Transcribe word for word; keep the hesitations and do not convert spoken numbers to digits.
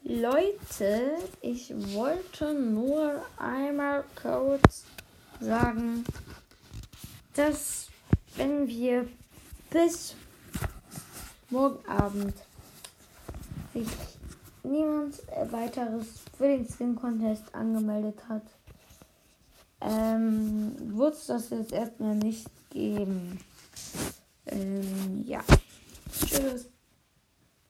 Leute, ich wollte nur einmal kurz sagen, dass wenn wir bis morgen Abend sich niemand weiteres für den Skin Contest angemeldet hat, ähm, wird es das jetzt erstmal nicht geben. Ähm, ja. Tschüss.